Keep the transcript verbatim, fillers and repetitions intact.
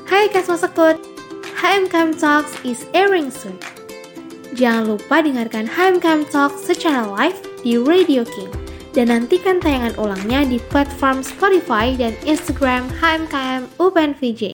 Hai Kasma Sekut, H M K M Talks is airing soon. Jangan lupa dengarkan H M K M Talks secara live di Radio King. Dan nantikan tayangan ulangnya di platform Spotify dan Instagram H M K M U P N V J.